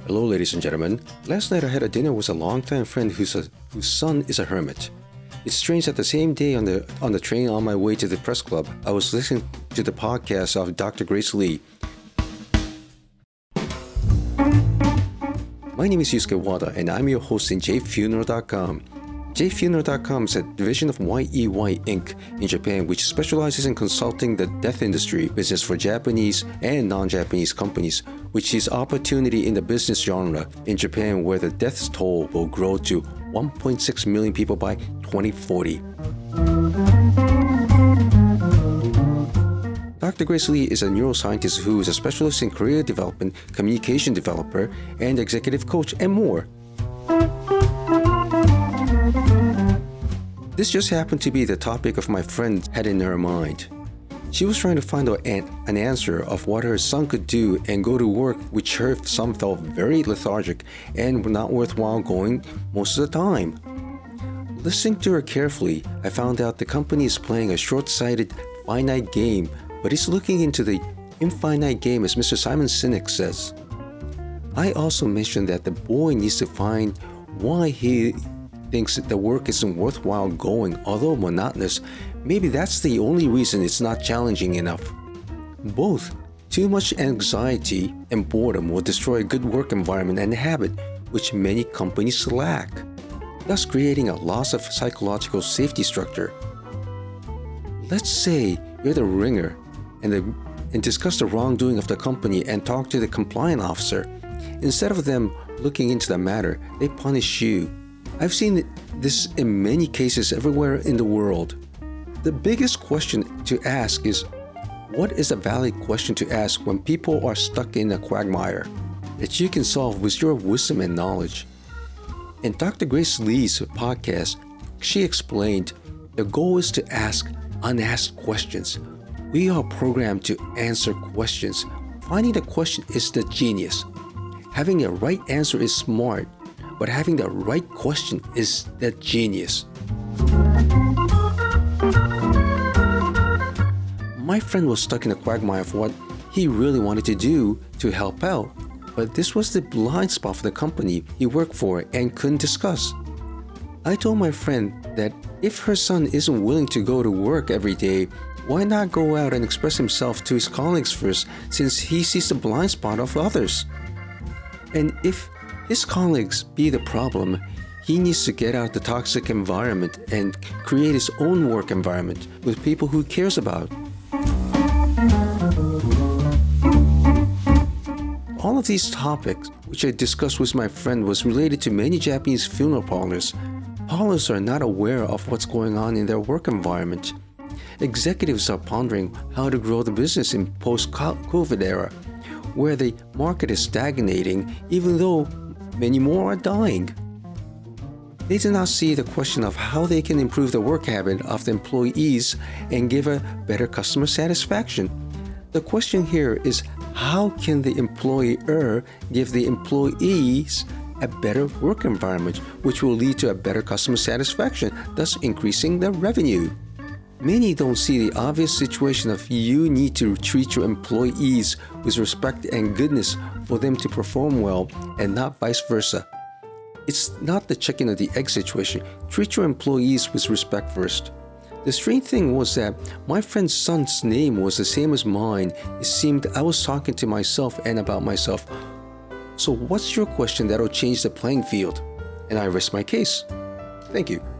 Hello, ladies and gentlemen. Last night I had a dinner with a longtime friend whose son is a hermit. It's strange that the same day on the train on my way to the press club, I was listening to the podcast of Dr. Grace Lee. My name is Yusuke Wada, and I'm your host in jfuneral.com. jfuneral.com is a division of YEY Inc. in Japan, which specializes in consulting the death industry business for Japanese and non-Japanese companies, which sees opportunity in the business genre in Japan, where the death toll will grow to 1.6 million people by 2040. Dr. Grace Lee is a neuroscientist who is a specialist in career development, communication developer, and executive coach, and more. This just happened to be the topic of my friend had in her mind. She was trying to find an answer of what her son could do and go to work, which her son felt very lethargic and not worthwhile going most of the time. Listening to her carefully, I found out the company is playing a short-sighted, finite game, but is looking into the infinite game, as Mr. Simon Sinek says. I also mentioned that the boy needs to find why he thinks that the work isn't worthwhile going, although monotonous. Maybe that's the only reason it's not challenging enough. Both too much anxiety and boredom will destroy a good work environment and habit, which many companies lack, thus creating a loss of psychological safety structure. Let's say you're the ringer and discuss the wrongdoing of the company and talk to the compliance officer. Instead of them looking into the matter, they punish you. I've seen this in many cases everywhere in the world. The biggest question to ask is, what is a valid question to ask when people are stuck in a quagmire that you can solve with your wisdom and knowledge? In Dr. Grace Lee's podcast, she explained the goal is to ask unasked questions. We are programmed to answer questions. Finding the question is the genius. Having a right answer is smart, but having the right question is the genius. My friend was stuck in a quagmire of what he really wanted to do to help out, but this was the blind spot for the company he worked for and couldn't discuss. I told my friend that if her son isn't willing to go to work every day, why not go out and express himself to his colleagues first, since he sees the blind spot of others? And if his colleagues be the problem, he needs to get out the toxic environment and create his own work environment with people who he cares about. All of these topics, which I discussed with my friend, was related to many Japanese funeral parlors. Parlors are not aware of what's going on in their work environment. Executives are pondering how to grow the business in post-COVID era, where the market is stagnating even though many more are dying. They do not see the question of how they can improve the work habit of the employees and give a better customer satisfaction. The question here is, how can the employer give the employees a better work environment, which will lead to a better customer satisfaction, thus increasing the revenue? Many don't see the obvious situation of you need to treat your employees with respect and goodness for them to perform well, and not vice versa. It's not the chicken or the egg situation. Treat your employees with respect first. The strange thing was that my friend's son's name was the same as mine. It seemed I was talking to myself and about myself. So what's your question that'll change the playing field? And I rest my case. Thank you.